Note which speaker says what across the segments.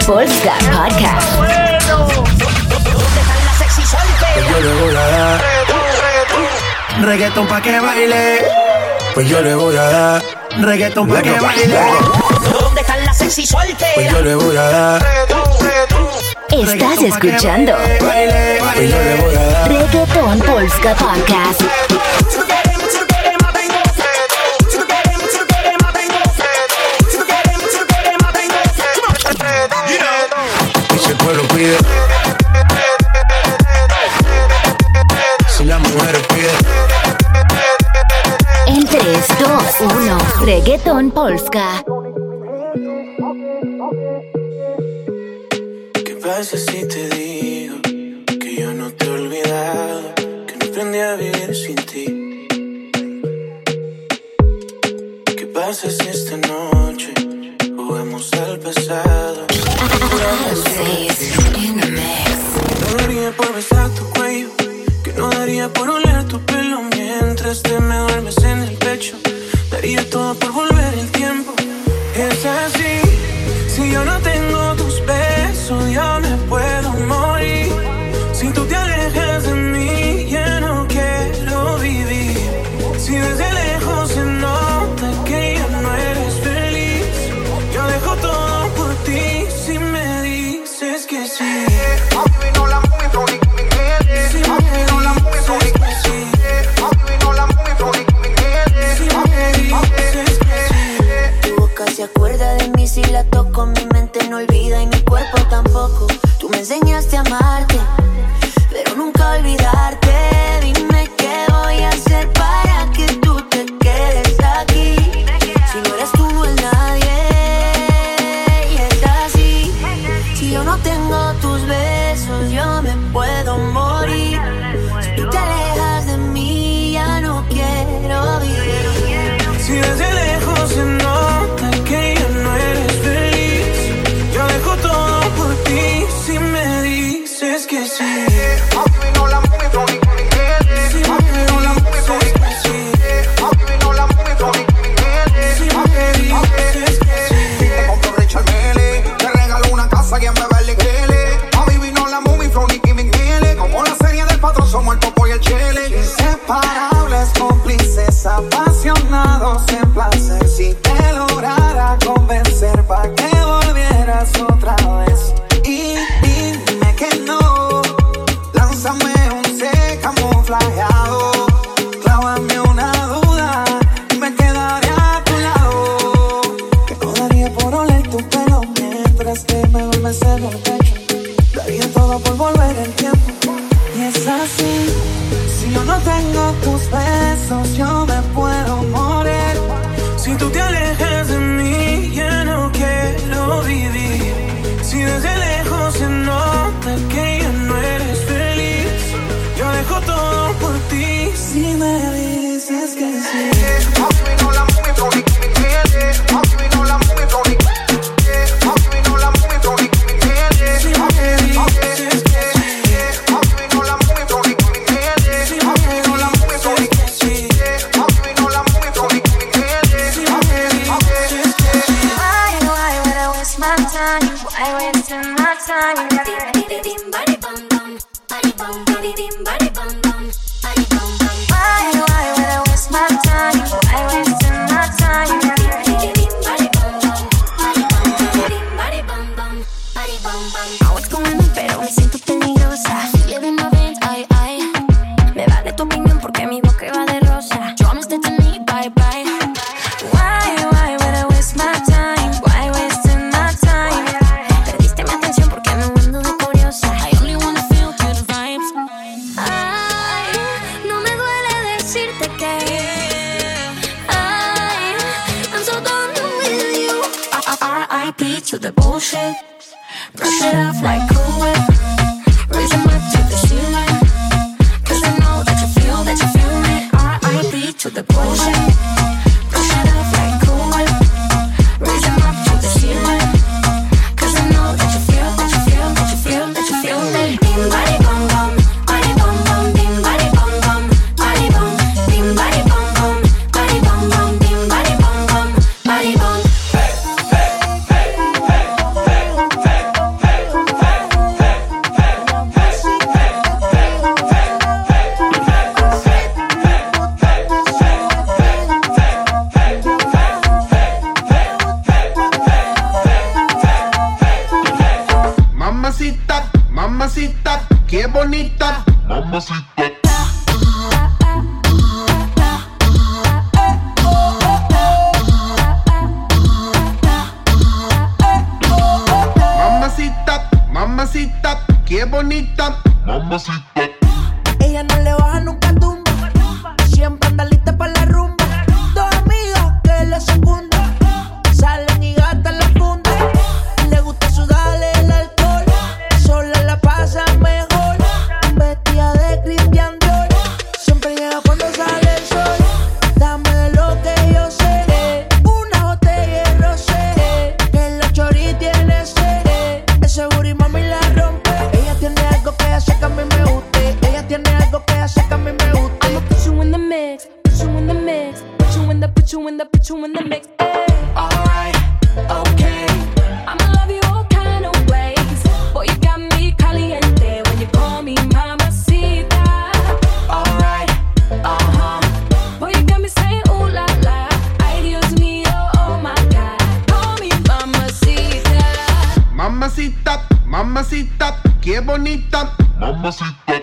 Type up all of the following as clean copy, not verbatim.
Speaker 1: Polska Podcast.
Speaker 2: Pues yo le voy a dar reggaetón pa' que baile. Pues yo le voy a dar reggaetón pa' que baile.
Speaker 3: ¿Dónde están las sexy solteras?
Speaker 2: Pues yo le voy a dar.
Speaker 1: Estás escuchando
Speaker 2: Pues yo le voy a dar
Speaker 1: Reggaeton Polska Podcast.
Speaker 2: Y si el pueblo pide, si las mujeres piden.
Speaker 1: En 3, 2, 1, Reggaeton Polska.
Speaker 4: ¿Qué pasa si te digo que yo no te he olvidado, que no aprendí a vivir sin ti? ¿Qué pasa si esta noche jugamos al pasado? No daría por besar tu cuello, que no daría por oler tu pelo mientras te me duermes en el pecho. Daría todo por volver el tiempo. Es así, si yo no tengo tus besos, yo me puedo morir. Si tú te alejas de mí, ya no quiero vivir. Si desde lejos se nota que ya no eres feliz, yo dejo todo por ti si me dices que sí.
Speaker 5: Se acuerda de mí si la toco, mi mente no olvida y mi cuerpo tampoco. Tú me enseñaste a amarte, pero nunca olvidarte. Dime qué voy a hacer para que tú te quedes aquí. Si no eres tú, no es nadie. Y es así, si yo no tengo tus besos, yo me puedo morir. Si tú te alejas de mí, ya no quiero vivir.
Speaker 4: Si desde lejos se nota que ya no eres feliz, yo dejo todo por ti si me dices que sí. Si me dices que sí. Si me dices que sí.
Speaker 6: Te compro Richard Mille, te regalo una casa y en Beverly Hills. A vivir no la movie from Nicki Minaj. Como la serie del patrón somos el Popo y el Chile. Inseparables, cómplices, apasionados en placer. Si te lograra convencer pa' que volvieras otra vez. Y dime que no, lánzame un C camuflajeado. Clávame una duda y me quedaré a tu lado. Que no daría por oler tu pelo mientras te me duermes en el pecho. Daría todo por volver el tiempo. Y es así, si yo no tengo tus besos, yo me puedo morir.
Speaker 4: Si tú te alejas de mí, ya no quiero vivir. Si desde lejos se nota que ya no eres feliz, yo dejo todo por ti
Speaker 6: Si me dices que sí.
Speaker 5: To the bullshit, brush it off like Cool Whip. Raise your mic to the ceiling, 'cause I know that you feel me. R.I.P. to the bullshit, brush it off like Cool Whip. Raise your mic to the ceiling, 'cause I know that you feel me. Bing body bum bum, body bum bum, bing body bum bum, body bum, bing body bum bum, body bum bum, bing body bum bum, body bum.
Speaker 7: Mamacita, qué bonita. Mamacita. Mamacita, mamacita, qué bonita. Mamacita.
Speaker 8: Ella no le baja nunca tumba. Siempre anda lista para la rumba. Dos amigas que le secundan. Salen y gastan la funda. Le gusta sudarle el alcohol. Sola la pasa mejor. Vestida de Christian Dior. Siempre llega cuando sale el sol. Dame de lo que yo sé. Una botella de rosé. Que la chori tiene sed. Ese booty mami la rompe. Ella tiene algo que hace que a mí me guste. Ella tiene algo que hace que a mí me guste.
Speaker 9: I'ma put you in the mix, put you in the mix, put you in the, put you in the, put you in the mix.
Speaker 8: Alright, okay.
Speaker 9: I'ma love you all kind of ways. Boy, you got me caliente when you call me mamacita.
Speaker 8: Alright,
Speaker 9: Boy, you got me saying ooh la la. Ay, Dios mío, oh my God. Call me mamacita.
Speaker 7: Mamacita, mamacita, qué bonita. Mamacita.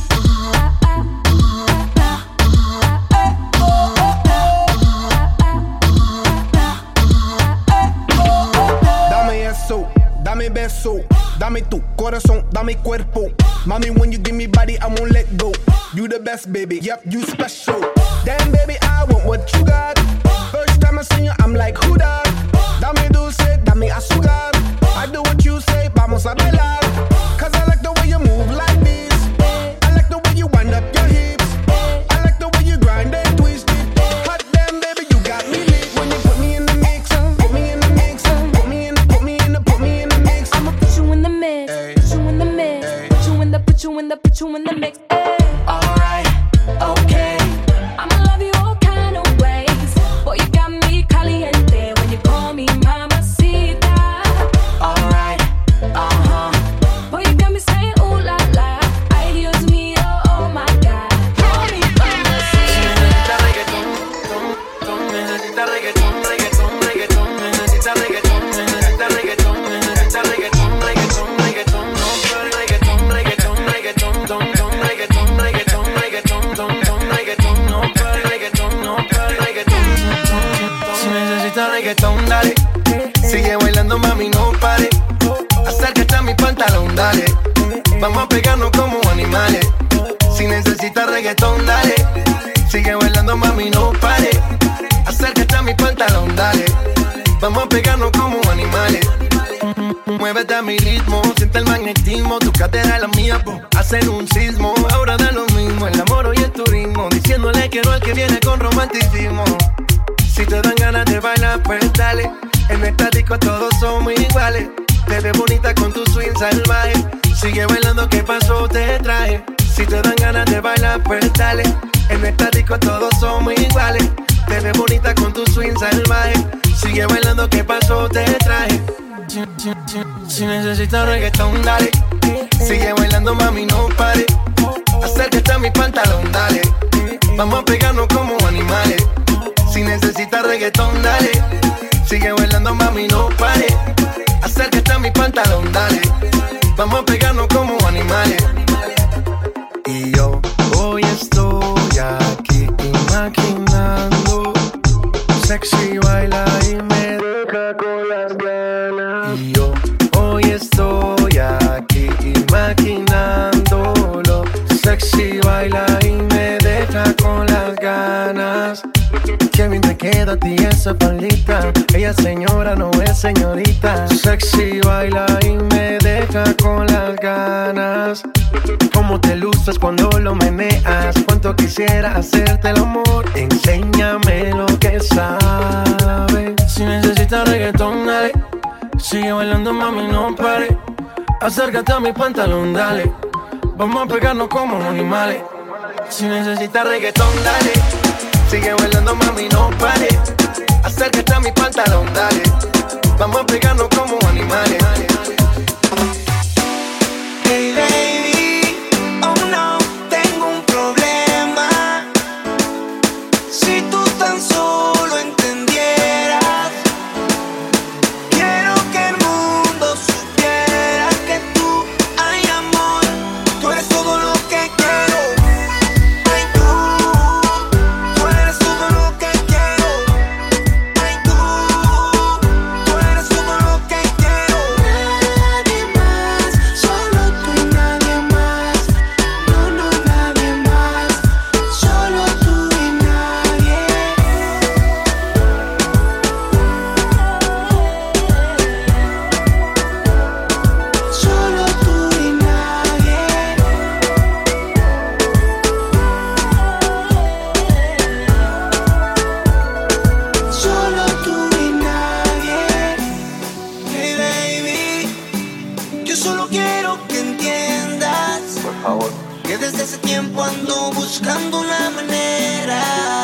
Speaker 7: Dame eso, dame beso, dame tu corazón, dame cuerpo. Mami, when you give me body, I won't let go. You the best, baby, yep, you special. Damn, baby, I want what you got. First time I seen you, I'm like, who that? Dame dulce, dame azúcar. I do what you say, vamos a bailar. Cause I like the way you move like this. I like the way you wind up your hips. I like the way you grind and twist it. Hot damn, baby, you got me lit. When you put me in the mix, put me in the mix, put me in the mix.
Speaker 9: I'ma put you in the mix, put you in the mix, put you in the, put you in the, put you in the mix.
Speaker 8: alright, okay.
Speaker 9: I'ma love you all kind of ways. Boy, you got me caliente when you call me mamacita.
Speaker 8: Alright,
Speaker 9: Boy, you got me saying ooh la la. Ay, Dios mío, oh my God. Call me mamacita.
Speaker 8: necesita reggaetón, reggaetón, reggaetón, necesita reggaetón, necesita reggaetón, necesita reggaetón, reggaetón, reggaetón, no reggaetón, reggaetón, reggaetón, don, don, reggaetón, reggaetón, reggaetón, don, don, reggaetón, no reggaetón, no reggaetón. Si necesitas reggaetón, dale. Sigue bailando, mami, no pare. Acércate a mi pantalón, dale. Vamos a pegarnos como animales. Si necesitas reggaetón, dale. Sigue bailando, mami, no pare. Acércate a mi pantalón, dale. Vamos a pegarnos como animales. Muévete a mi ritmo, siente el magnetismo. Tu cadera y la mía, hacen un sismo. Ahora da lo mismo, el amor y el turismo. Diciéndole que no al que viene con romanticismo. Si te dan ganas de bailar, pues dale. En esta disco todos somos iguales. Te ves bonita con tu swing salvaje. Sigue bailando, ¿qué pasó? Te traje. Si te dan ganas de bailar, pues dale. En esta disco todos somos iguales. Te ves bonita con tu swing salvaje. Sigue bailando, ¿qué pasó? Te traje. Si necesitas reggaetón, dale. Sigue bailando, mami, no pare. Acércate a mi pantalón, dale. Vamos a pegarnos como animales. Si necesitas reggaetón, dale. Sigue bailando, mami, no pare. Acércate a mi pantalón, dale. Vamos a pegarnos como animales. Y yo hoy estoy aquí imaginando. Sexy baila y me deja con las ganas. Y yo hoy estoy aquí imaginándolo. Sexy baila y me deja con las ganas. Qué bien te queda a ti esa faldita. Ella señora, no es señorita. Sexy baila y me deja con las ganas. Cómo te luces cuando lo meneas. Cuánto quisiera hacerte el amor. Enséñame lo que sabes. Si necesitas reggaetón, dale. Sigue bailando, mami, no pare. Acércate a mi pantalón, dale. Vamos a pegarnos como animales. Si necesitas reggaetón, dale. Sigue bailando, mami, no pare. Acércate a mi pantalón, dale. Vamos a pegarnos como animales.
Speaker 10: Hey baby, oh no, tengo un problema. Si tú tan solo entendieras, quiero que el mundo supiera que tú, ay amor, favor. Que desde ese tiempo ando buscando la manera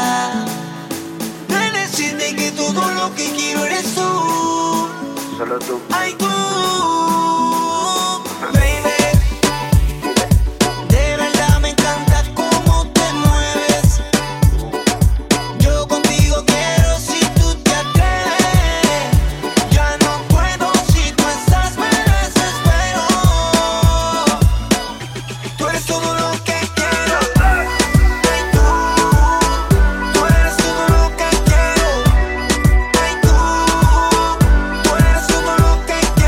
Speaker 10: de decirte que todo lo que quiero eres tú.
Speaker 8: Solo tú.
Speaker 10: Ay, tú, baby. De verdad me encanta cómo te mueves. Yo contigo quiero si tú te atreves. Ya no puedo si tú estás, me desespero. Tú eres todo lo que quiero. Ay, tú eres todo lo que quiero. Ay, tú eres todo lo que quiero.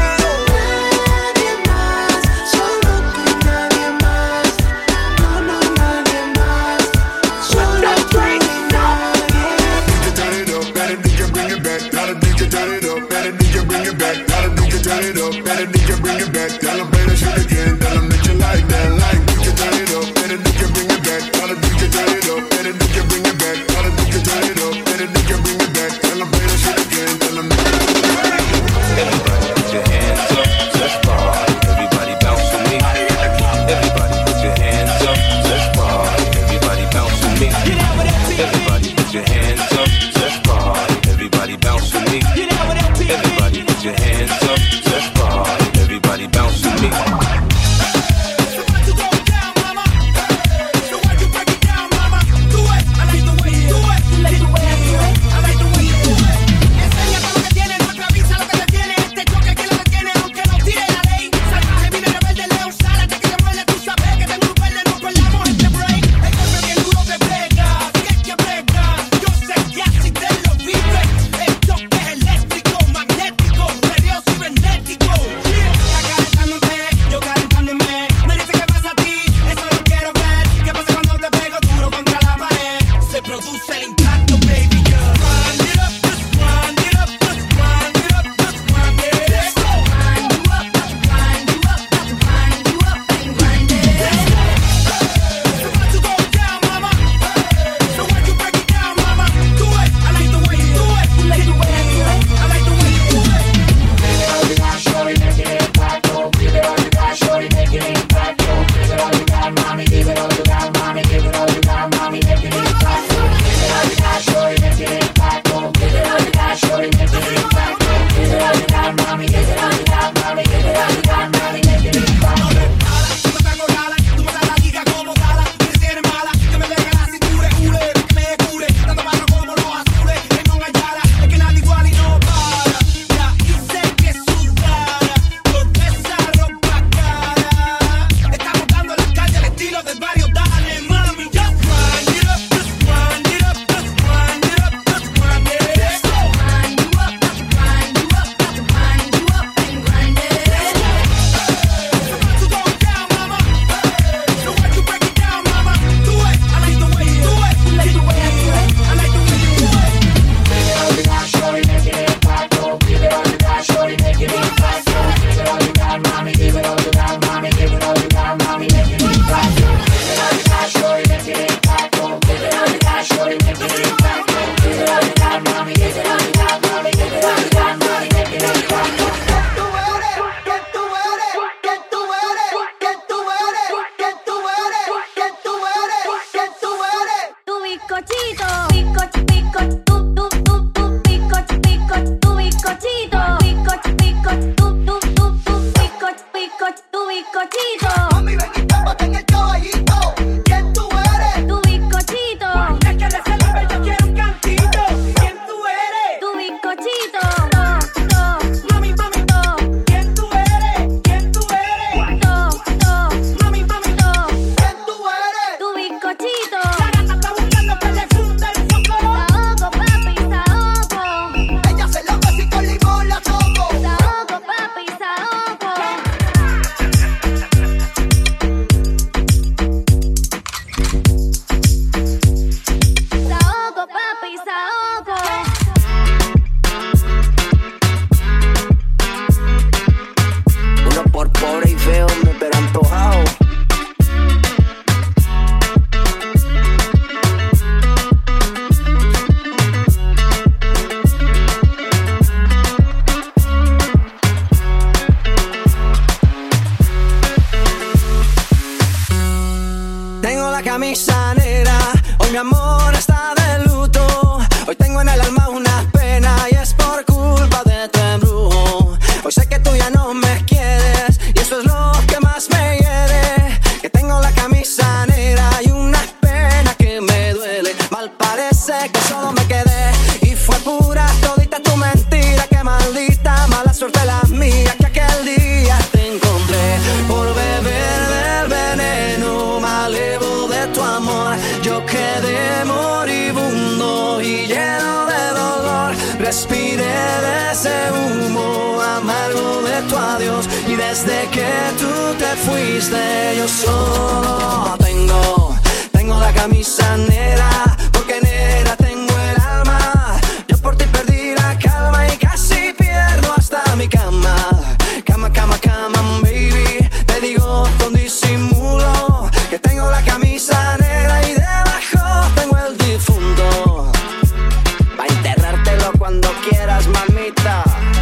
Speaker 11: camisa negra, hoy mi amor está de luto. Hoy tengo en el alma una pena y es por culpa de tu embrujo. Hoy sé que tú ya no me quieres y eso es lo que más me hiere. Que tengo la camisa negra y una pena que me duele. Mal parece que solo me quedé y fue pura todita tu mentira. Que maldita mala suerte la mía que aquel día te encontré por beber del veneno malevo de tu amor. Yo quedé moribundo y lleno de dolor. Respiré de ese humo amargo de tu adiós y desde que tú te fuiste yo solo tengo la camisa negra, porque negra tengo el alma. Yo por ti perdí la calma y casi pierdo hasta mi cama. Cama, cama, cama, baby. Te digo con disimulo que tengo la camisa negra y debajo tengo el difunto. Pa' enterrártelo cuando quieras, mamita.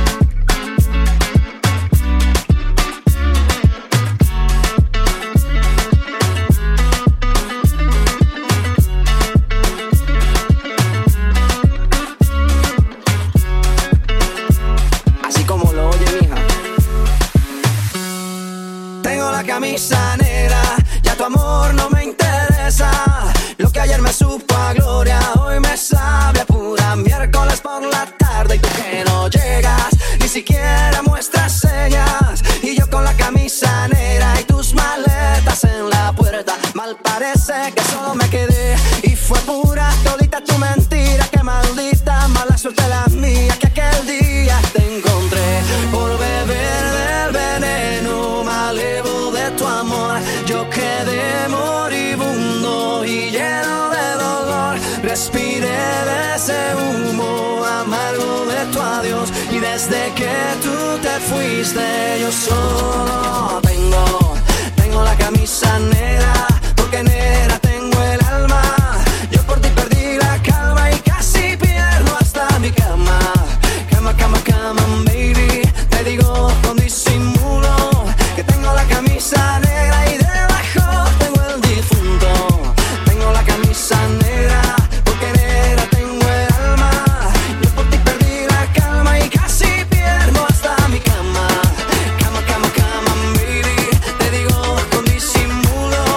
Speaker 11: Así como lo oye, mija. Tengo la camisa negra, ya tu amor no me interesa. Lo que ayer me supo a gloria, hoy me sabe a pura miércoles por la tarde. Y tú que no llegas, ni siquiera muestras señas. Y yo con la camisa negra y tus maletas en la puerta. Mal parece que solo me quedé y fue pura todita tu mentira. Que maldita mala suerte la mía que aquel día te encontré por beber del veneno malevo de tu amor. Yo quedé moribundo y lleno de dolor. Respiré de ese humo amargo de tu adiós y desde que tú te fuiste yo solo tengo la camisa negra, porque negra tengo el alma. Yo por ti perdí la calma y casi pierdo hasta mi cama. Cama, cama, cama, baby. Te digo con disimulo que tengo la camisa negra y debajo tengo el difunto. Tengo la camisa negra, porque negra tengo el alma. Yo por ti perdí la calma y casi pierdo hasta mi cama. Cama, cama, cama, baby. Te digo con disimulo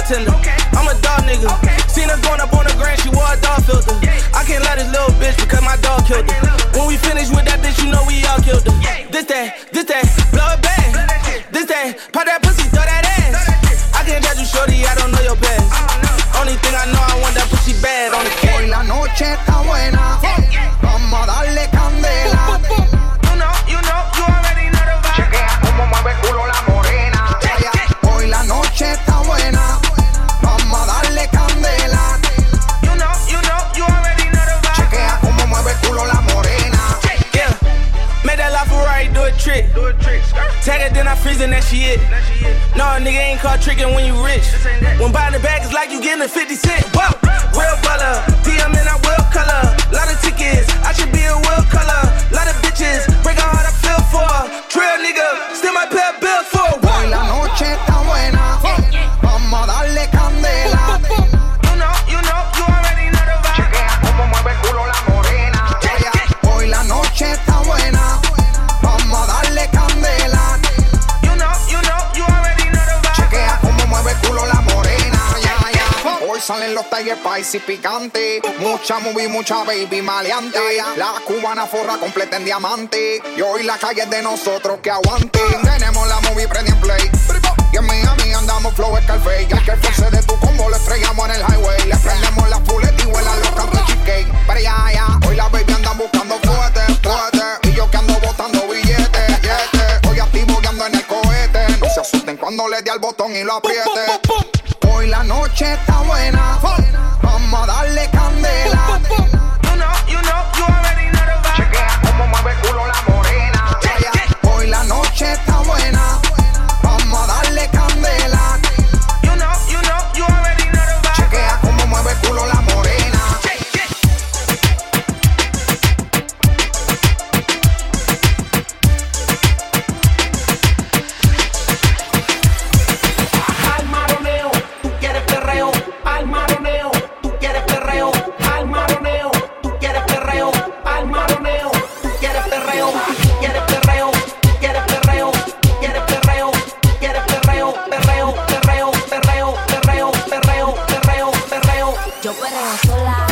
Speaker 12: bartender. I'm a dog nigga. Seen her going up on the grand, she wore a dog filter. I can't let this little bitch because my dog killed her. When we finish with that bitch, you know we all killed her. This that, blow it back. This that, pop that pussy, throw that ass. I can't judge you, shorty, I don't know your past. Only thing I know, I want that pussy bad on the cat.
Speaker 6: Hoy la noche está buena, vamos a darle candela.
Speaker 12: You already know the vibe.
Speaker 6: Chequea cómo mueve el culo la morena. Hoy la noche está buena, vamos a darle candela.
Speaker 12: You already know the vibe.
Speaker 6: Chequea cómo mueve el culo la morena.
Speaker 12: Yeah, make that LaFerrari do a trick. Tag it, then I freeze and that she it. No, nigga ain't caught tricking when you rich. When buying the bag, it's like you getting a 50 cent. Whoa, real baller, DM and I will color. Lot of tickets, I should be a will color. Lot of bitches, break her heart, I feel for her. Trail nigga, still my pay bills for her.
Speaker 6: Hoy la noche está buena, vamos a darle candela.
Speaker 12: You already know the vibe.
Speaker 6: Chequea cómo mueve el culo la morena. Hoy la noche está buena, vamos a darle candela.
Speaker 12: You already know the vibe.
Speaker 6: Chequea cómo mueve el culo la morena. Hoy salen los Tiger Spicy picantes. Mucha movie, mucha baby maleante. La cubana forra completa en diamante. Y hoy la calle es de nosotros que aguanten. Tenemos la movie prende en play. Y en Miami andamos flow Scarface. Y al que force de tu combo le estrellamos en el highway. Le prendemos la full y vuelan los cantos cheesecake. Pero ya, hoy la baby andan buscando fuerte. Y yo que ando botando billetes. Hoy activo y ando en el cohete. No se asusten cuando le dé al botón y lo apriete. Hoy la noche está buena, vamos a darle candela.
Speaker 12: You already know the vibe.
Speaker 6: Chequea cómo mueve el culo la morena. Hoy la noche está buena, vamos a darle candela.
Speaker 12: You already know the vibe.
Speaker 6: Chequea cómo mueve el culo la morena.
Speaker 3: Al maroneo, tú quieres perreo. Al maroneo, tú quieres perreo. Al maroneo, tú quieres perreo. Al maroneo, tú quieres perreo. Tú quieres perreo. Tú quieres perreo. Tú quieres perreo. Tú quieres perreo. Perreo.
Speaker 5: Yo perreo sola.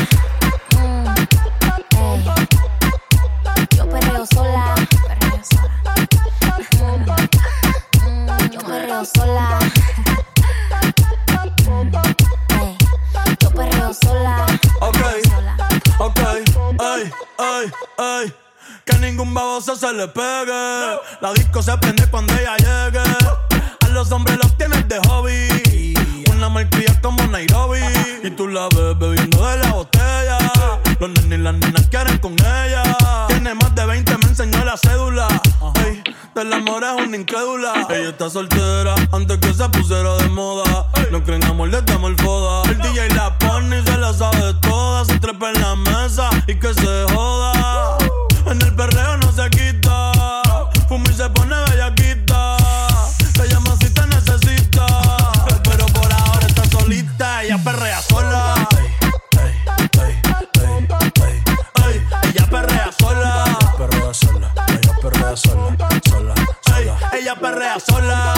Speaker 5: Yo perreo sola. Yo perreo sola. Yo perreo sola.
Speaker 13: Ok, ey. Que ningún baboso se le pegue. La disco se prende cuando ella llegue. A los hombres los tienes de hobby. Una malcria como Nairobi. Y tú la ves bebiendo de la botella. Los nenes y las nenas quieren con ella. Tiene más de 20, me enseñó la cédula. Ey, del amor es una incrédula. Ella está soltera antes que se pusiera de moda. No creen amor, le damos el foda. El DJ la pone y se la sabe toda. Se trepa en la mesa y que se joda. En el perreo no se quita. Fuma y se pone bellaquita. Te llama si te necesita. Pero por ahora está solita. Ella perrea sola. Ella perrea sola. Ella perrea sola. Ella perrea sola.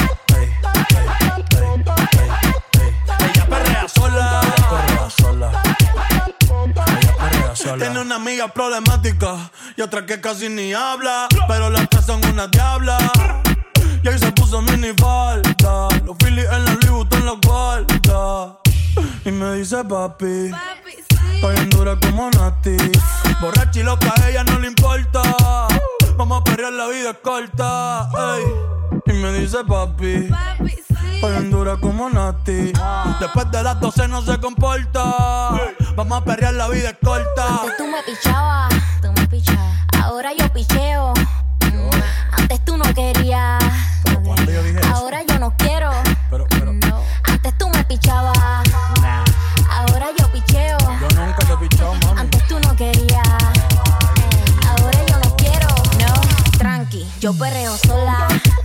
Speaker 13: Tiene una amiga problemática y otra que casi ni habla, pero las tres son una diabla. Y ahí se puso mini falta, los Phillies en la Louis Vuitton los guarda. Y me dice papi, estoy en dura como Nati. Borracha y loca, a ella no le importa. Vamos a perrear, la vida es corta. Ey. Y me dice papi, estoy en dura como Nati. Después de las 12 no se comporta. Vamos a perrear, la vida es corta.
Speaker 5: Antes tú me pichabas, ahora yo picheo. Antes tú no querías, ahora yo no quiero. No. Antes tú me pichabas, ahora yo picheo.
Speaker 13: Yo nunca te he pichado, mami.
Speaker 5: Antes tú no querías, ahora yo no quiero. No, tranqui, yo perreo sola.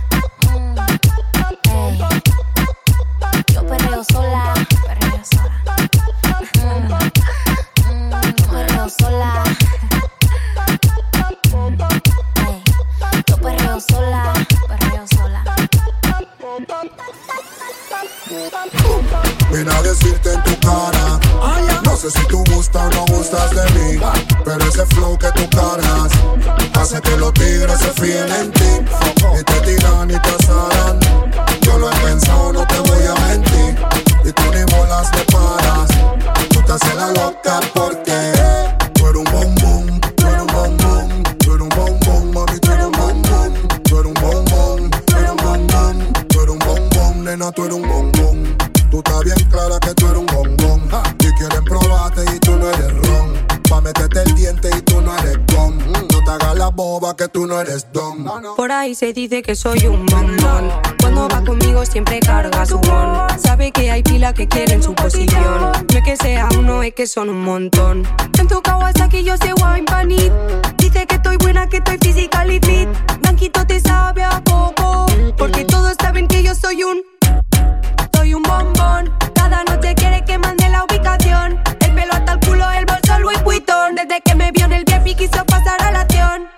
Speaker 5: Yo perreo sola. Yo perreo sola. Yo perreo sola.
Speaker 14: vine a decirte en tu cara. No sé si tú gustas o no gustas de mí, pero ese flow que tú cargas hace que los tigres se fíen en ti y te tiran y te asaran. Yo lo he pensado, no te voy a mentir, y tú ni bolas me paras. Tú te haces la loca porque tú eres un bombón, tú eres un bombón, tú eres un bombón, mami, tú eres un bombón, tú eres un bombón, tú eres un bombón, tú eres un bombón, nena, tú eres un bombón. Tú estás bien clara que tú eres un bombón, y quieren probarte y tú no eres ron, pa' meterte el diente y tú no eres gom. No te hagas la boba que tú no eres don.
Speaker 15: Por ahí se dice que soy un bombón. Cuando va conmigo siempre carga su bon. Sabe que hay pila que quieren su posición. No es que sea uno, es que son un montón. En tu Kawasaki yo sé wine panit. Dice que estoy buena, que estoy physically fit. Blanquito te sabe a poco, porque todos saben que yo soy un bombón. Cada noche quiere que mande la ubicación. El pelo hasta el culo, el bolso Louis Vuitton. Desde que me vio en el VIP quiso pasar a la acción.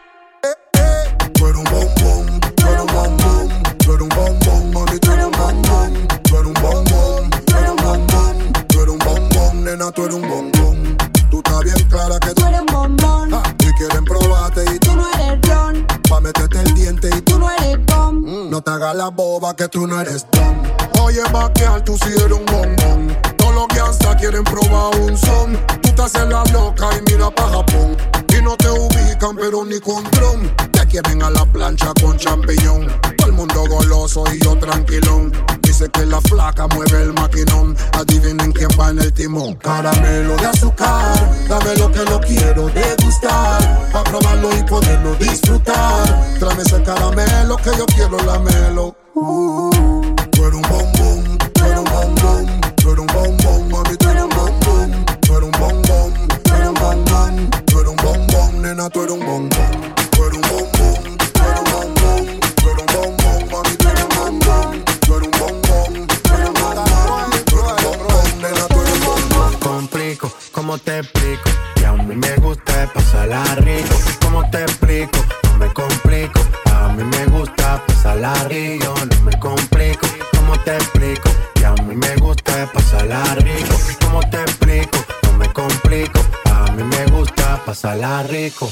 Speaker 14: Tú eres un bombón, tú eres un bombón, tú eres un bombón, mami, tú eres un bombón, tú eres un bombón, tú eres un bombón, tú eres un bombón, nena, tú eres un bombón. Tú estás bien clara que tú
Speaker 15: eres un bombón,
Speaker 14: y quieren probarte y
Speaker 15: tú no eres ron,
Speaker 14: pa' meterte el diente y
Speaker 15: tú no eres gom.
Speaker 14: No te hagas la boba que tú no eres don. Oye, vaquear, tú sí eres un bombón. Todos los que hasta quieren probar un son. Tú te haces la loca y mira pa' Japón. Y no te ubican, pero ni con dron. Te quieren a la plancha con champiñón. Todo el mundo goloso y yo tranquilón. Dice que la flaca mueve el maquinón. Adivinen quién va en el timón. Caramelo de azúcar, dame lo que lo quiero degustar, pa' probarlo y poderlo disfrutar. Tráeme ese caramelo que yo quiero lamelo. Tú eres un bombón, tú eres un bombón, tú eres un bombón, mami, tú eres un bombón, tú eres un bombón, tú eres un bombón, tú eres un bombón, nena, tú eres un bombón, tú eres un bombón, tú eres un bombón, tú eres un bombón, mami, tú eres un bombón, tú eres un bombón, tú eres un bombón, tú eres un bombón, nena, tú eres un bombón.
Speaker 16: Complico, ¿cómo te explico? Que a mí me gusta pasarla rico. ¿Cómo te explico? No me complico. A mí me gusta pasarla rico, no me complico. ¿Cómo te explico? Que a mí me gusta pasarla rico. ¿Cómo te explico? No me complico. A mí me gusta pasarla rico.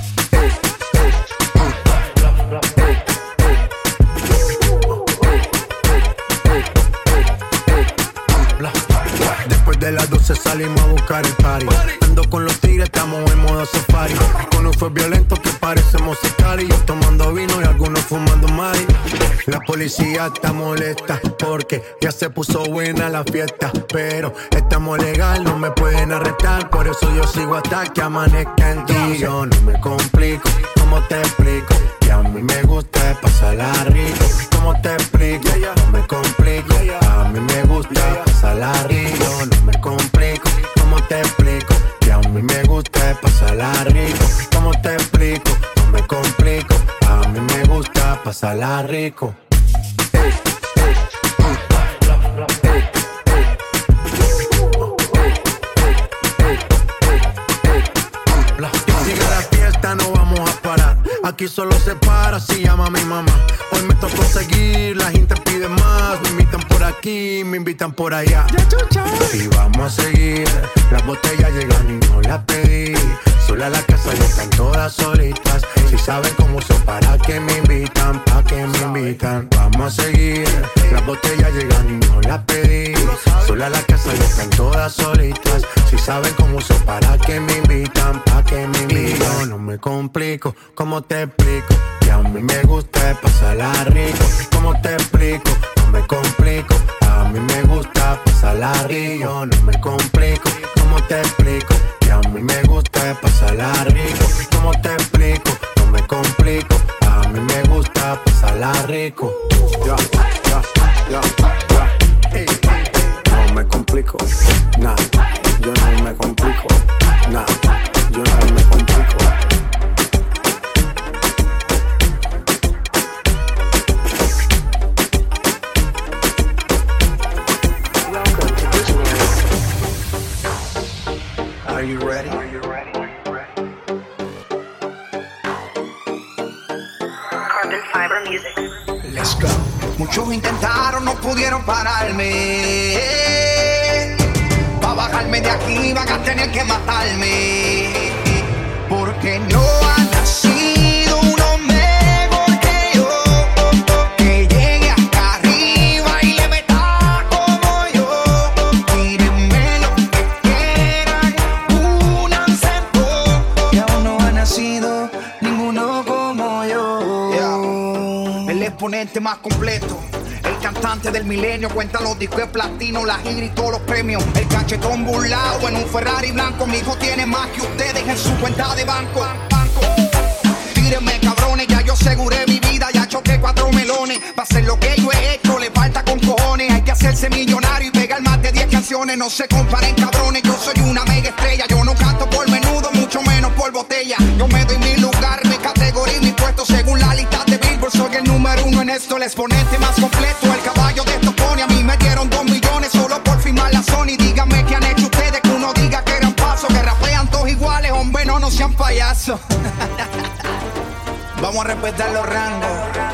Speaker 16: Después de las 12 salimos a buscar el party. Ando con los tigres, estamos en modo safari. Uno fue violento que parecemos sicarios, tomando vino y algunos fumando mari. La policía está molesta porque ya se puso buena la fiesta, pero estamos legal, no me pueden arrestar. Por eso yo sigo hasta que amanezca en ti. Yo no me complico, ¿cómo te explico? Que a mí me gusta pasarla rico. ¿Cómo te explico? No me complico. A mí me gusta pasarla rico. No me complico. ¿Cómo te explico? Que a mí me gusta pasarla rico. ¿Cómo te explico? No me complico. A mí me gusta pasarla rico. Sigue la fiesta, no vamos a parar. Aquí solo se para si llama a mi mamá. Hoy me tocó seguir, la gente pide más. Me invitan por aquí, me invitan por allá. Y vamos a seguir. Las botellas llegan y no las pedí. Sola a la casa y están todas solitas. Si saben cómo uso, para que me invitan, pa' que me invitan. Vamos a seguir. Las botellas llegan y no las pedí. Sola a la casa y están todas solitas. Si saben cómo uso, para que me invitan, pa' que me invitan. Yo no me complico, ¿cómo te explico? Que a mí me gusta pasarla rico. ¿Cómo te explico? No me complico. A mí me gusta pasarla rico. No me complico, ¿cómo te explico? Que a mí me gusta pasarla rico. ¿Cómo te explico? No me complico. A mí me gusta pasarla rico.
Speaker 17: No me complico, nah. Yo no me complico, nah. Yo no me complico.
Speaker 11: Are you ready?
Speaker 18: Carbon Fiber Music.
Speaker 11: Let's go. Muchos intentaron, no pudieron pararme.
Speaker 6: tendrían que matarme. Porque no ha nacido un hombre mejor que yo, que llegue hasta arriba y le meta como yo. Tírenme lo que quieran, únanse todos, que aún no ha nacido ninguno como yo. El exponente más completo, el cantante del milenio, cuenta los discos de platino, la gira y todos los premios. El cachetón burlado en un Ferrari blanco. Mi hijo tiene más que ustedes en su cuenta de banco. Tírenme cabrones, ya yo aseguré mi vida, ya choqué 4 melones. Pa' hacer lo que yo he hecho le falta con cojones. Hay que hacerse millonario y pegar más de 10 canciones. No se comparen cabrones, yo soy una mega estrella. Yo no canto por menudo, mucho menos por botella. Yo me doy mi lugar, mi categoría y mi puesto según la lista de Billboard. Soy el número 1 en esto, el exponente más completo, el caballo de estos pone. A mí me dieron 2 millones solo por firmar la Sony. Díganme qué han hecho ustedes que uno diga que eran pasos, que rapean todos iguales, hombre, no sean payasos. Vamos a respetar los rangos.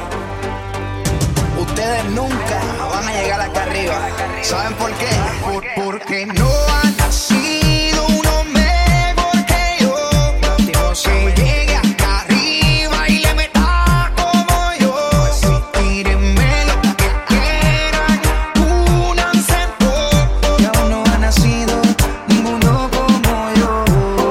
Speaker 6: Ustedes nunca van a llegar acá arriba. ¿Saben por qué? Porque no ha nacido un hombre mejor que yo, que llegue hasta arriba y le meta como yo. Tírenme lo que quieran, únanse todos, que aún no ha nacido ninguno como yo.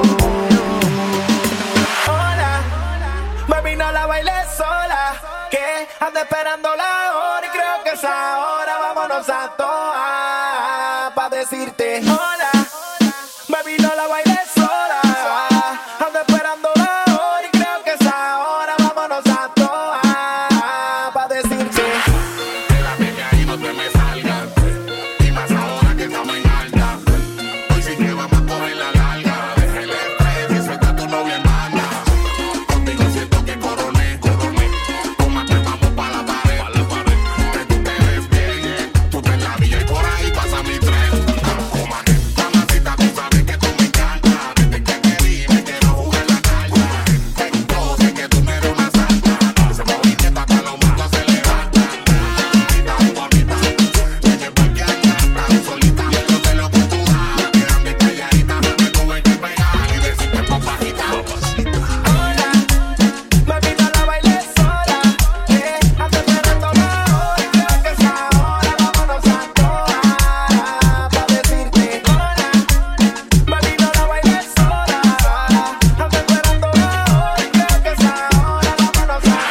Speaker 12: Hola, baby, no la bailes sola, que anda esperando la hora y creo que es ahora. Vámonos a toa pa' decirte hola, baby, no la bailes sola, anda esperando la hora y creo que es ahora. Vámonos a toa pa' decirte.
Speaker 19: Espérate que ahí no te me salgas, y más ahora que estamos en alta. Hoy sí que vamos a coger la larga. Deja el estrés y suelta a tu novia en banda. Contigo siento que coroné. Tómate, vamos pa' la pared. Que tú te ves bien, tú te la villa y por ahí pasa mi tren. Mamacita, tú sabes que tú me encantas. Desde que te vi me quiero jugar la carta. Yo sé que tú me eres una santa. Ese movimiento hasta los muertos se levantan. Bonita, me llevo aquí a casa, solita. Yo sé lo que tú das, quédame calladita. Me tuve que pegar y decirte por bajita.
Speaker 12: Hola, baby, no la bailes sola, que anda esperando la hora y creo que es ahora. Vámonos a toa pa' decirte hola, baby, no la bailes sola, anda esperando la hora y creo que es ahora. Vámonos a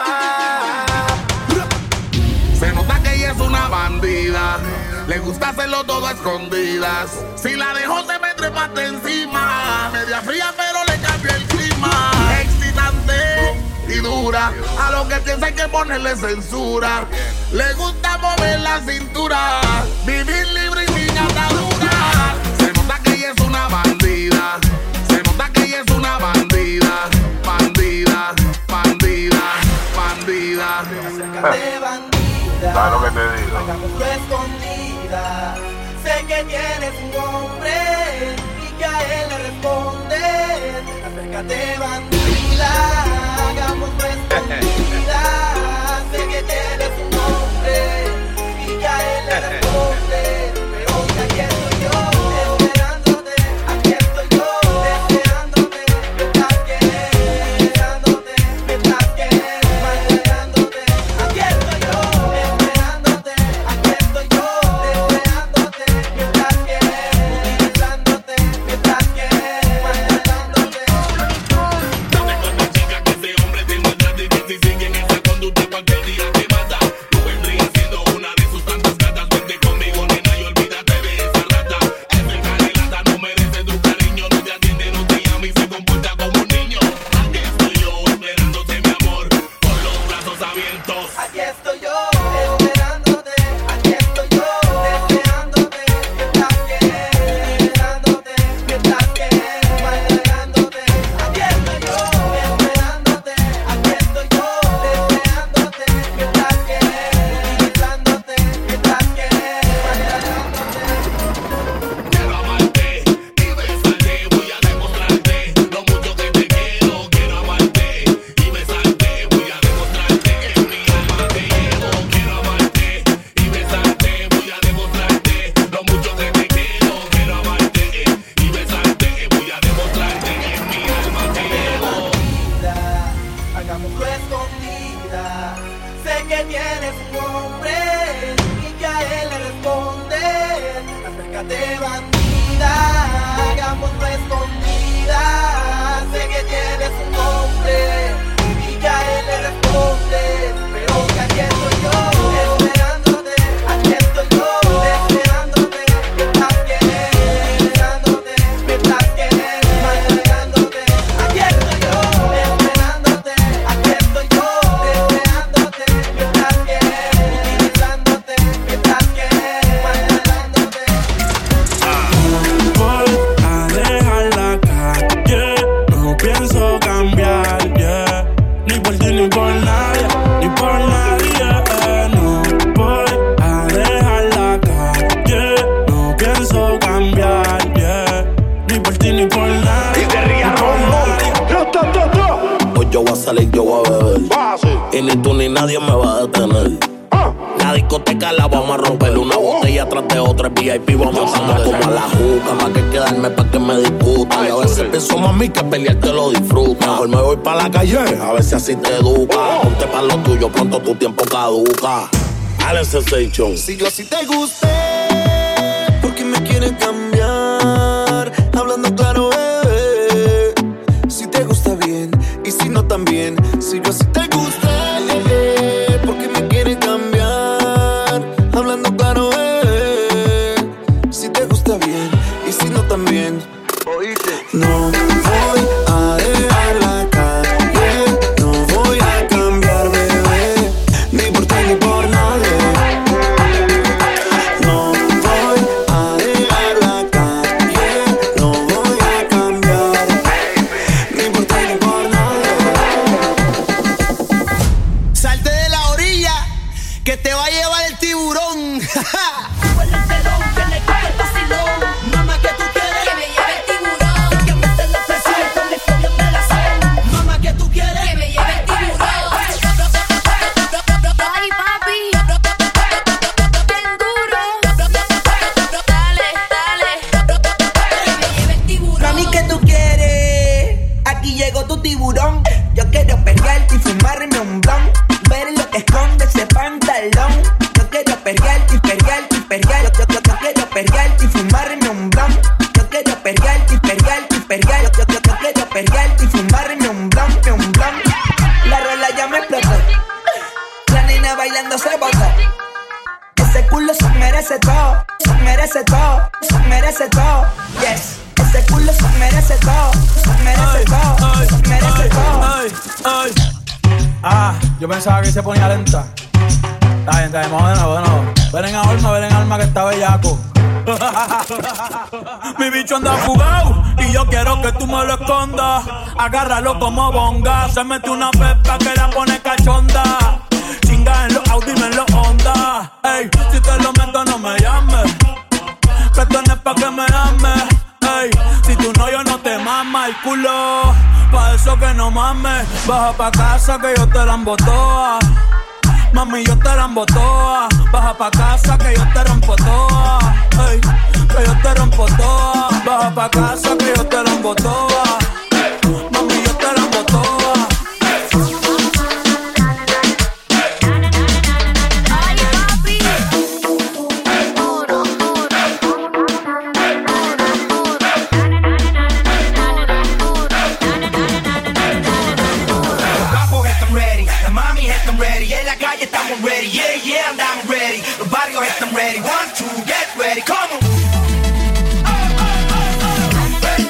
Speaker 12: toa.
Speaker 19: Se nota que ella es una bandida. Le gusta hacerlo todo a escondidas. Si la dejo se me trepa hasta encima. Media fría pero le cambia el clima. Excitante y dura. A lo que piensa hay que ponerle censura. Le gusta mover la cintura. Vivir libre y sin atadura. Se nota que ella es una bandida. Se nota que ella es una bandida. Bandida, bandida, bandida.
Speaker 12: Acércate, bandida,
Speaker 19: ¿Sabes lo que te digo?
Speaker 12: hagamos tu escondida. Sé que tienes un hombre y que a él le respondes. Acércate, bandida, hagamos tu escondida. Sé que tienes un hombre y que a él le respondes. Pero que aquí estoy yo, esperándote. Aquí estoy yo, deseándote. Mientras que esperándote, mientras que bailándote. Aquí estoy yo, esperándote. Aquí estoy yo, deseándote. Mientras que utilizándote, mientras que bailándote.
Speaker 3: Búscate bandida, hagámoslo escondida. Sé que tienes un nombre y ya él le responde, pero que aquí estoy yo, esperándote. Aquí estoy yo, esperándote. Mientras quieres, esperándote. Mientras quieres, entregándote. Aquí estoy yo, esperándote. Aquí estoy yo, esperándote. Mientras quieres, utilizándote. Mientras quieres, entregándote.
Speaker 13: Voy a dejar la calle, no pienso cambiar, yeah. Ni por ti ni por nadie, ni por nadie, no. Voy a dejar la calle, no pienso cambiar, yeah. Ni por ti ni por nadie, ni por nadie.
Speaker 20: Hoy yo voy a salir, yo voy a beber. Y ni tú ni nadie me va a detener. La discoteca la vamos a romper, una botella tras de otra, el VIP vamos a andar como a la juca, más que quedarme pa' que me discutan. Y a veces pienso, mami, que pelear te lo disfruta. Mejor me voy pa' la calle, a ver si así te educa. Ponte pa' lo tuyo, pronto tu tiempo caduca. Alex Sensation.
Speaker 11: Si yo así te gusté, ¿por qué me quieren cambiar? Hablando claro, bebé. Si te gusta bien, y si no también. Si yo así te gusté, ¿por qué me quieren cambiar? Hablando claro, si te gusta bien, y si no también. Oíste. No voy a dejar la calle, no voy a cambiar, bebé, ni por ti ni por nadie. No voy a dejar la calle, no voy a cambiar, ni por ti ni por nadie.
Speaker 3: Salte de la orilla, que te va a llevar el tiburón. Mamá, que tú quieres que me lleve el tiburón, que mete la presión con mi fobia de la sed. Mamá, que tú quieres que me lleve el tiburón.
Speaker 5: Ay, papi, bien duro. Dale, dale,
Speaker 3: Que me lleve el tiburón. Mami, que tú quieres, aquí llegó tu tiburón. Yo quiero perrearte y fumarme un blunt, ver lo que esconde ese pantalón. Yo quiero perrearte y perrearte y perrear. Yo quiero perrearte y fumarme un blunt. Yo quiero perrearte y perrearte y perrear. Yo quiero perrearte y fumarme un blunt, un blunt. La rola ya me explotó, la nena bailando se botó. Ese culo se merece todo, se merece todo, se merece todo. Yes, ese culo se merece todo, se merece todo, se merece todo.
Speaker 13: Ah, yo pensaba que se ponía lenta. Está bien, vamos de nuevo. Ven en alma que está bellaco. Mi bicho anda fugado y yo quiero que tú me lo escondas. Agárralo como bonga. Se mete una pepa que la pone cachonda. Chinga en los Audi, en los Honda. Ey, si te lo meto no me llames, que esto no es pa' que me ames. Ey, si tú no, yo no te mama el culo. Pa' eso que no mames. Baja pa' casa que yo te la embotoa. Mami, yo te la embotoa. Baja pa' casa que yo te rompo toa. Ey, que yo te rompo toa. Baja pa' casa que yo te la embotoa. Mami, yo te la embotoa.
Speaker 3: Estamos ready, yeah, yeah, andamos ready. Los barrios están ready, 1, 2, get ready, come on.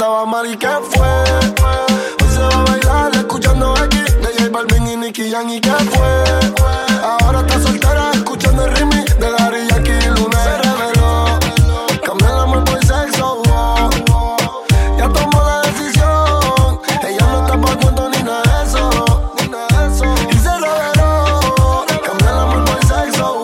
Speaker 21: trataba mal y ¿qué fue? Hoy se va a bailar escuchando X de J Balvin y Nicky Jam y ¿qué fue? Ahora está soltera escuchando el remix de Daddy Yankee y Luna. Se reveló, cambió el amor por sexo, ya tomó la decisión. Ella no está pa' cuento ni nada de eso. Y se reveló, cambió el amor por sexo,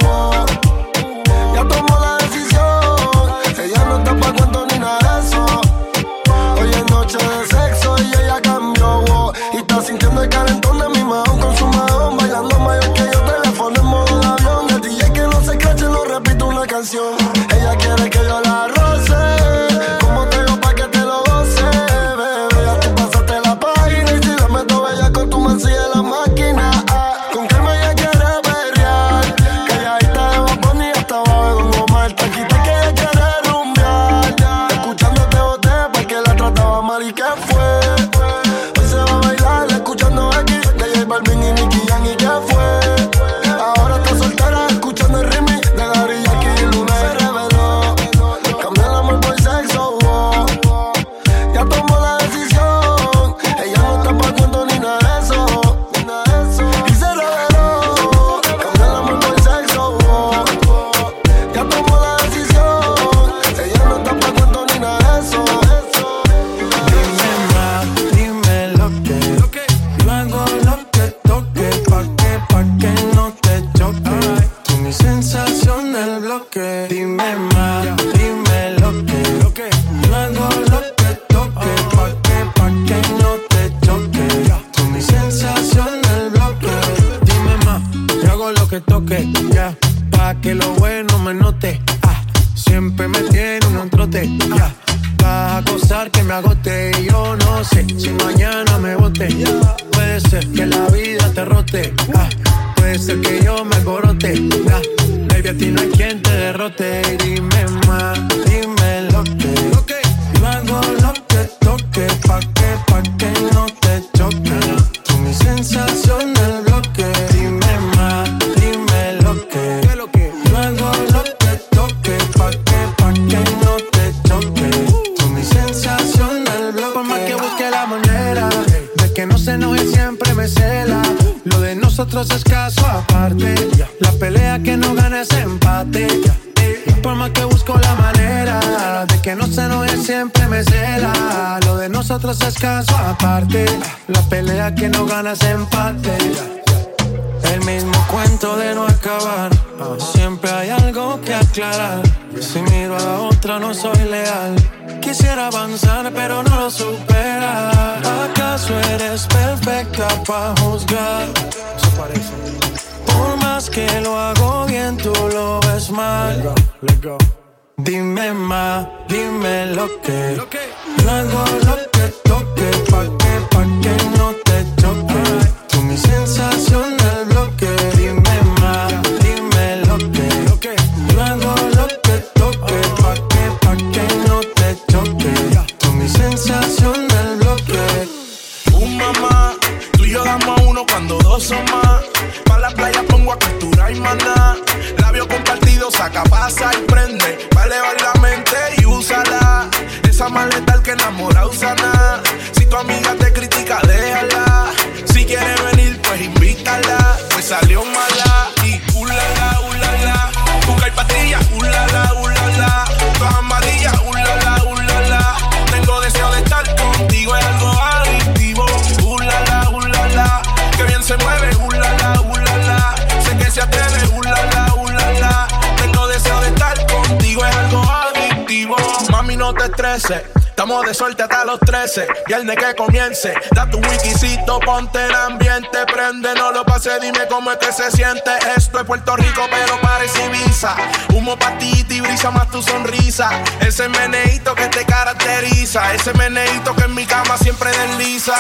Speaker 21: ya tomó la decisión. Ella no está pa' cuento ni nada de eso. Hoy es noche de sexo y ella cambió, y está sintiendo el calentón de mi mahón con su mahón, bailando mayor que yo, teléfono en modo de avión. El DJ que no se cache no repite una canción. Ella quiere que yo la roce, como te digo pa' que te lo goce, bebé. Ya tú pasaste la página y si la meto bella con tu man sigue la máquina. Con calma ella quiere perrear, que ella está de Bad Bunny hasta abajo de Don Omar. Taquita que ella quiere rumbear, escuchándote boté porque la trataba mal y ¿qué fue? Hoy se va a bailar escuchando X de J Balvin y Nicky Jam y ¿qué fue? Ahora está soltera escuchando el remix de Daddy Yankee y Luna. Se reveló, cambió el amor por sexo, ya tomó la decisión. Ella no está pa' cuento ni nada de eso. Y se reveló, cambió el amor por sexo, ya tomó la decisión. Ella no está pa' cuento ni nada de eso.
Speaker 4: Dime más, dime lo que yo hago lo que toque, pa' que no te choque. Tú mi sensación del bloque. Dime más, dime lo que yo hago lo que toque, pa' que no te choque. Tú mi sensación del bloque. Dime más, yo hago lo que toque, ya, pa' que lo bueno me note. Siempre me tiene un trote, ya. Vas a gozar que me agote y yo no sé si mañana me bote. Puede ser que la vida te rote, puede ser que yo me alborote, baby, a ti no hay quien te derrote. Dime más, dime lo que yo hago lo que toque, pa' que no te choque. Tú mi sensación del bloque. Dime más, dime lo que yo hago lo que toque, pa' que no te choque. Tú mi sensación del bloque. Por más que busque la manera de que no se enoje, siempre me cela. Lo de nosotros es caso aparte, la pelea que no gana es empate. Por más que busco la manera de que no se enoje, siempre me cela. Lo de nosotros es caso aparte, la pelea que no gana es empate. El mismo cuento de no acabar, siempre hay algo que aclarar. Si miro a la otra no soy leal, quisiera avanzar pero no lo supera. ¿Acaso eres perfecta pa' juzgar? Eso parece. Por más que lo hago bien, tú lo ves mal. Let go. Dime más, dime lo que yo hago lo que toque, pa' que no te choque. Tú mi sensación del bloque. Dime más, dime lo que yo hago lo que toque, pa' que no te choque. Tú mi sensación del bloque.
Speaker 12: Mamá, tú y yo damos uno cuando dos son más. Pa' la playa pongo a capturar y maná. Labio compartido, saca, pasa y prende. Va a elevar la mente y úsala. Esa maleta el que enamora, usa nada. Si tu amiga te critica, déjala. Si quiere venir, pues invítala. Pues salió mala y ulala. Busca y pastilla, ulala. Todas amarillas, ulala. Tengo deseo de estar contigo, es algo adictivo. Ulala. Que bien se mueve, ulala. Sé que se atreve, ulala. Tengo deseo de estar contigo, es algo adictivo. Mami, no te estreses, estamos de suerte hasta los 13. Viernes que comience, da tu wikisito, ponte el ambiente. Prende, no lo pases, dime cómo es que se siente. Esto es Puerto Rico, pero parece Ibiza. Humo pa' ti y brisa más tu sonrisa. Ese meneíto que te caracteriza, ese meneíto que en mi cama siempre desliza.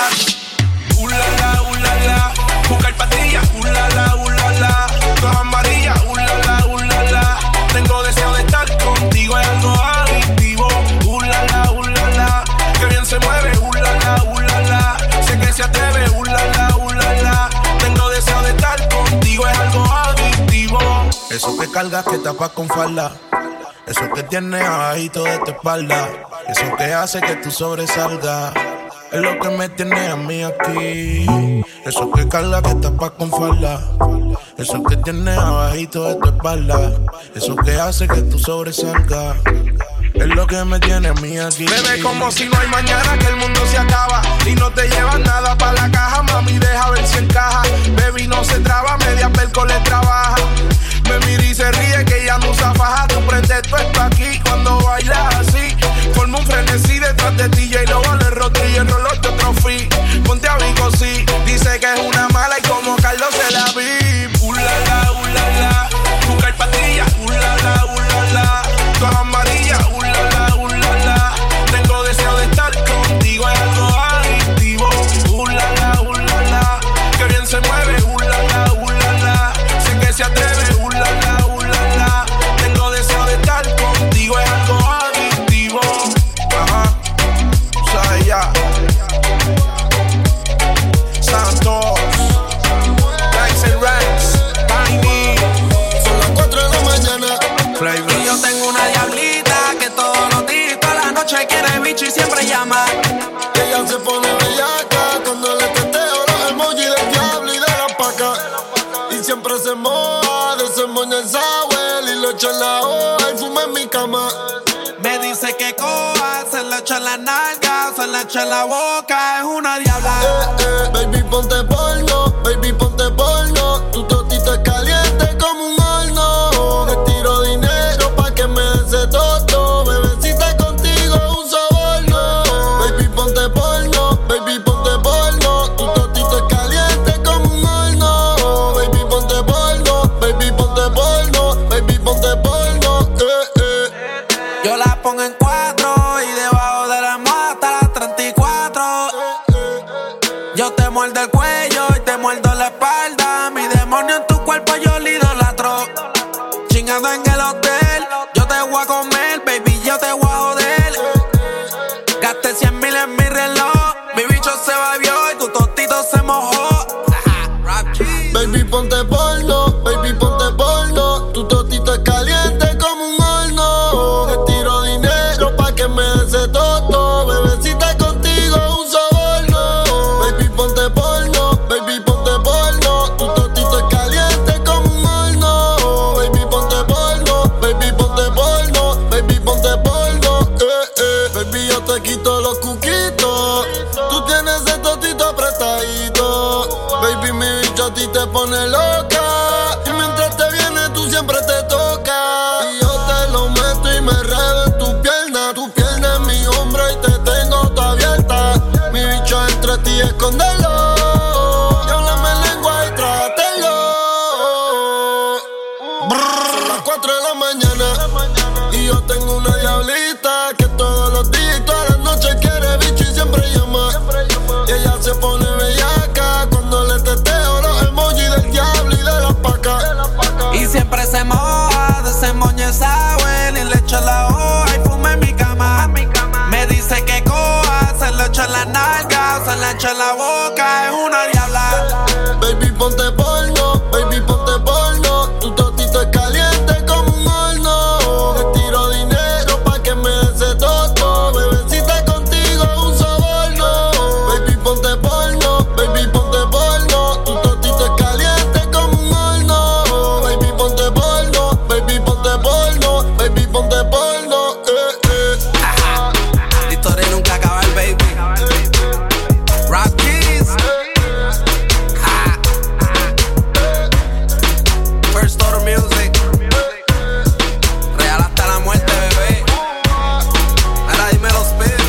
Speaker 12: Ulala. Busca y pastilla, ulala. Todas amarillas, ulala. Tengo deseo de estar contigo, es algo adictivo. Ulala. Que bien se mueve, ulala. Sé que se atreve, ulala. Tengo deseo de estar contigo, es algo adictivo. Eso que cargas que tapas con falda, eso que tienes abajito de tu espalda.
Speaker 16: Eso que hace que tú sobresalgas. Es lo que me tiene a mí aquí. Eso que carga que tapa con falda. Eso que tiene abajito de tu espalda. Eso que hace que tú sobresalgas. Es lo que me tiene a mí aquí.
Speaker 12: Bebé, como si no hay mañana, que el mundo se acaba y no te llevas nada pa' la caja. Mami, deja ver si encaja. Baby, no se traba, media perco le trabaja. Me mira y se ríe que ella no usa faja. Tu pretexto está aquí cuando bailas así. Forma un frenesí detrás de ti. Y lo vale rotri y el reloj de otro free. Ponte a Vico, sí. Dice que es una mala y como Carlos se la vi. Ulala, ulala. Buscar pastillas. Ulala, ulala. Todas amarillas. Ulala, ulala. Tengo deseo de estar contigo. Es algo adictivo. Ulala, ulala. Que bien se mueve. Ulala, ulala. Sé que se atreve. Ulala, ulala. Tengo deseo de estar contigo. Es algo adictivo. Ajá. Sabes ya. Santos. Rice and Rice. Tiny.
Speaker 21: Son las 4 de la mañana.
Speaker 12: Y yo tengo una diablita que todos los días, toda la noche quiere bicho y siempre llama.
Speaker 21: Ella se pone bellaca cuando le teteo los emojis del diablo y de la paca. Y siempre se moja, desemboña el sour y lo echa en la hoja y fuma en mi cama.
Speaker 12: Me dice que coja, se la echa en la nalga, se la echa en la boca, es una diabla.
Speaker 21: Baby, ponte porno, baby, ponte porno. Tu totito es caliente como un horno. Te tiro dinero pa' que me des ese toto. Bebecita contigo es un soborno. Baby, ponte porno, baby, ponte porno. Tu totito es caliente como un horno. Baby, ponte porno, baby, ponte porno. Baby, ponte porno,
Speaker 12: Yo la pongo en 4 y debajo de la almohada hasta las 34. Yo te muerdo el cuello y te muerdo la espalda. Mi demonio en tu cuerpo yo le idolatro. Chingando en el hotel, yo te voy a comer, baby, yo te voy a joder. Gasté 100,000 en mi reloj. Mi bicho se bebió y tu tostito se mojó.
Speaker 21: baby, ponte porno, baby, ponte porno. Tu totito es caliente como un horno. Te tiro dinero pa' que me des ese toto. Bebecita contigo es un soborno. Baby, ponte porno, baby, ponte porno. Tu totito es caliente como un horno. Baby, ponte porno, baby, ponte porno. Baby, ponte porno, Baby, yo te quito los cuquitos. Tú tienes ese totito apretadito. Baby, mi bicho a ti te pone loca. Y mientras te viene, tú siempre te toca. Y yo te lo meto y me redo en tu pierna en mi hombro y te tengo toda abierta. Mi bicho entre ti, escóndelo. Y háblame en lengua y trátelo. Son las 4 de la mañana y yo tengo una diablita que todos los días y todas las noches quiere bicho y siempre llama. Y ella se pone bellaca cuando le teteo los emojis del diablo y de la paca.
Speaker 12: Y siempre se moja, desemboña esa abuela y le echa la hoja y fuma en mi cama. Me dice que coja, se lo echa en la nalga, se la echa en la boca, es una diabla.
Speaker 21: Baby, ponte porno, baby, ponte porno. Tu totito es caliente como un horno. Te tiro dinero pa' que me des ese toto. Bebecita contigo es un soborno. Baby, ponte porno, baby, ponte porno. Tu totito es caliente como un horno. Baby, ponte porno, baby, ponte porno. Baby, ponte porno,
Speaker 12: La historia nunca acaba, baby. Rock Keys. First Order Music. Real hasta la muerte, bebé. Ahora dime los pies.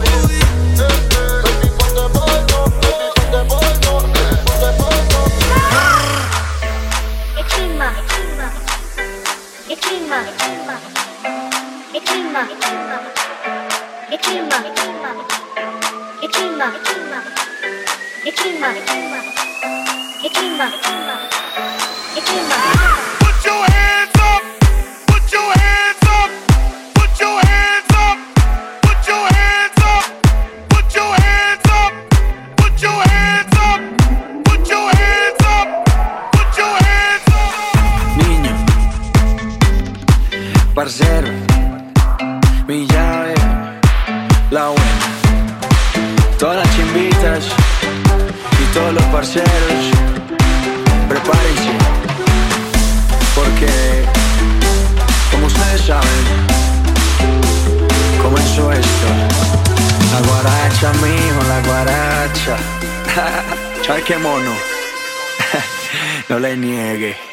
Speaker 19: Put your hands up. Put your hands up. Put your hands up. Put your hands up. Put your hands up. Put your hands up. Put your hands up. Put your hands up.
Speaker 11: 'Parcero, mi llave, Todas las chimbitas y todos los parceros, prepárense, porque como ustedes saben, comenzó esto. La guaracha, mijo, la guaracha. ¿Sabes qué mono? No le niegue.